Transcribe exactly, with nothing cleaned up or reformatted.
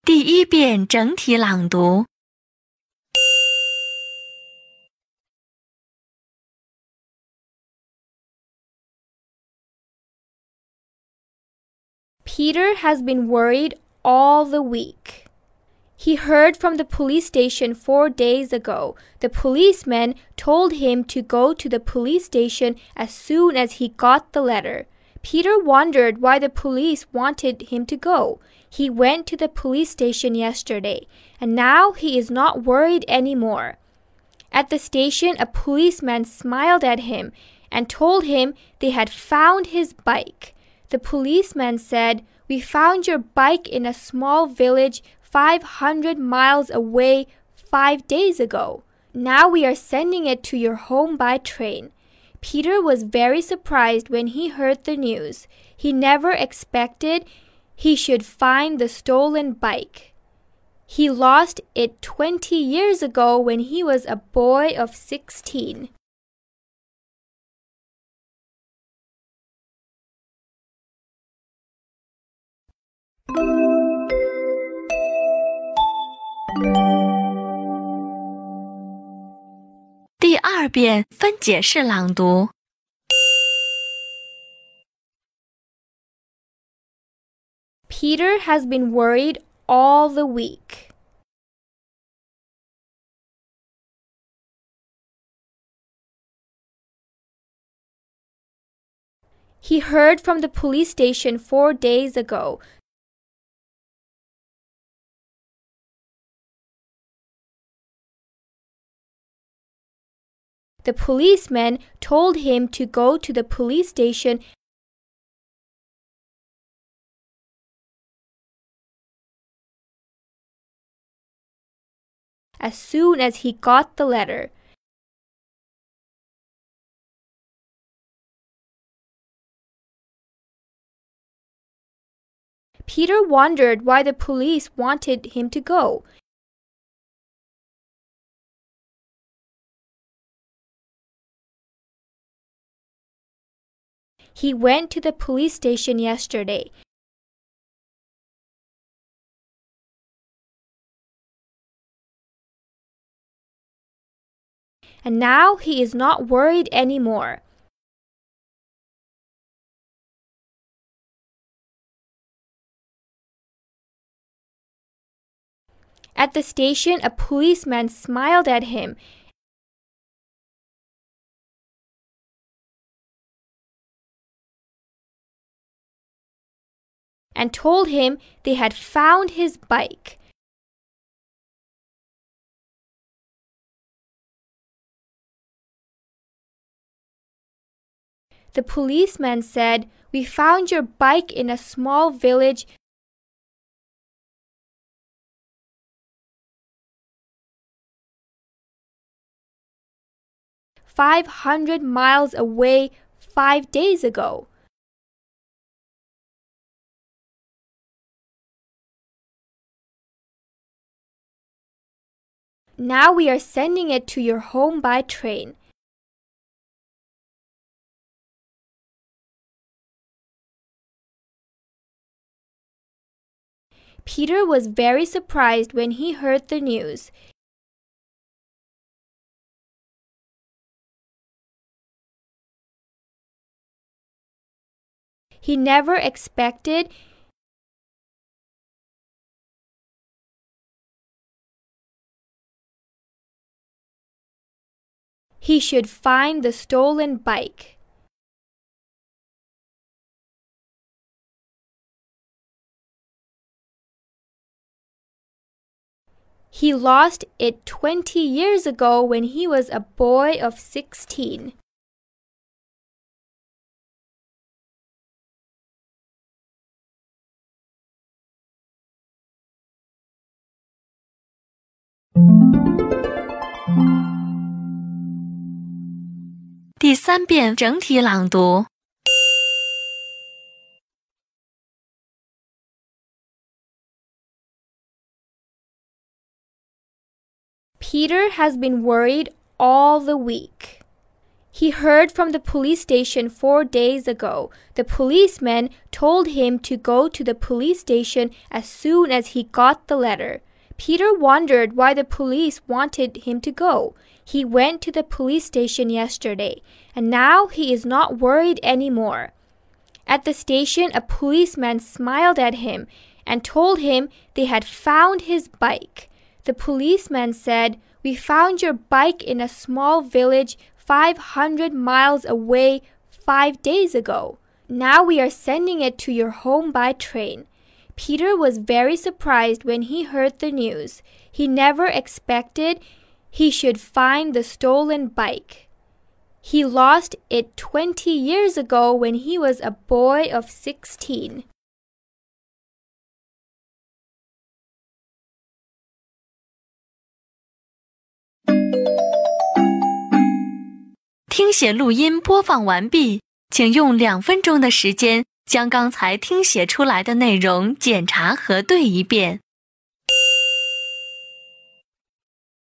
第一遍整体朗读。 Peter has been worried all the week. He heard from the police station four days ago. The policeman told him to go to the police station as soon as he got the letter. Peter wondered why the police wanted him to go. He went to the police station yesterday, and now he is not worried anymore. At the station, a policeman smiled at him and told him they had found his bike. The policeman said, "We found your bike in a small village five hundred miles away five days ago. Now we are sending it to your home by train." Peter was very surprised when he heard the news. He never expected he should find the stolen bike. He lost it twenty years ago when he was a boy of sixteen. 第二遍分解式朗读。 Peter has been worried all the week. He heard from the police station four days ago. The policeman told him to go to the police station as soon as he got the letter. Peter wondered why the police wanted him to go. He went to the police station yesterday. And now he is not worried anymore. At the station, a policeman smiled at him and told him they had found his bike. The policeman said, "We found your bike in a small village five hundred miles away five days ago." Now we are sending it to your home by train. Peter was very surprised when he heard the news. He never expected he should find the stolen bike. He lost it twenty years ago when he was a boy of sixteen. 第三遍整体朗读。 Peter has been worried all the week. He heard from the police station four days ago. The policeman told him to go to the police station as soon as he got the letter. Peter wondered why the police wanted him to go. He went to the police station yesterday, and now he is not worried anymore. At the station, a policeman smiled at him and told him they had found his bike. The policeman said, "We found your bike in a small village five hundred miles away five days ago. Now we are sending it to your home by train." Peter was very surprised when he heard the news. He never expected he should find the stolen bike. He lost it twenty years ago when he was a boy of sixteen. 听写录音播放完毕，请用两分钟的时间将刚才听写出来的内容检查核对一遍。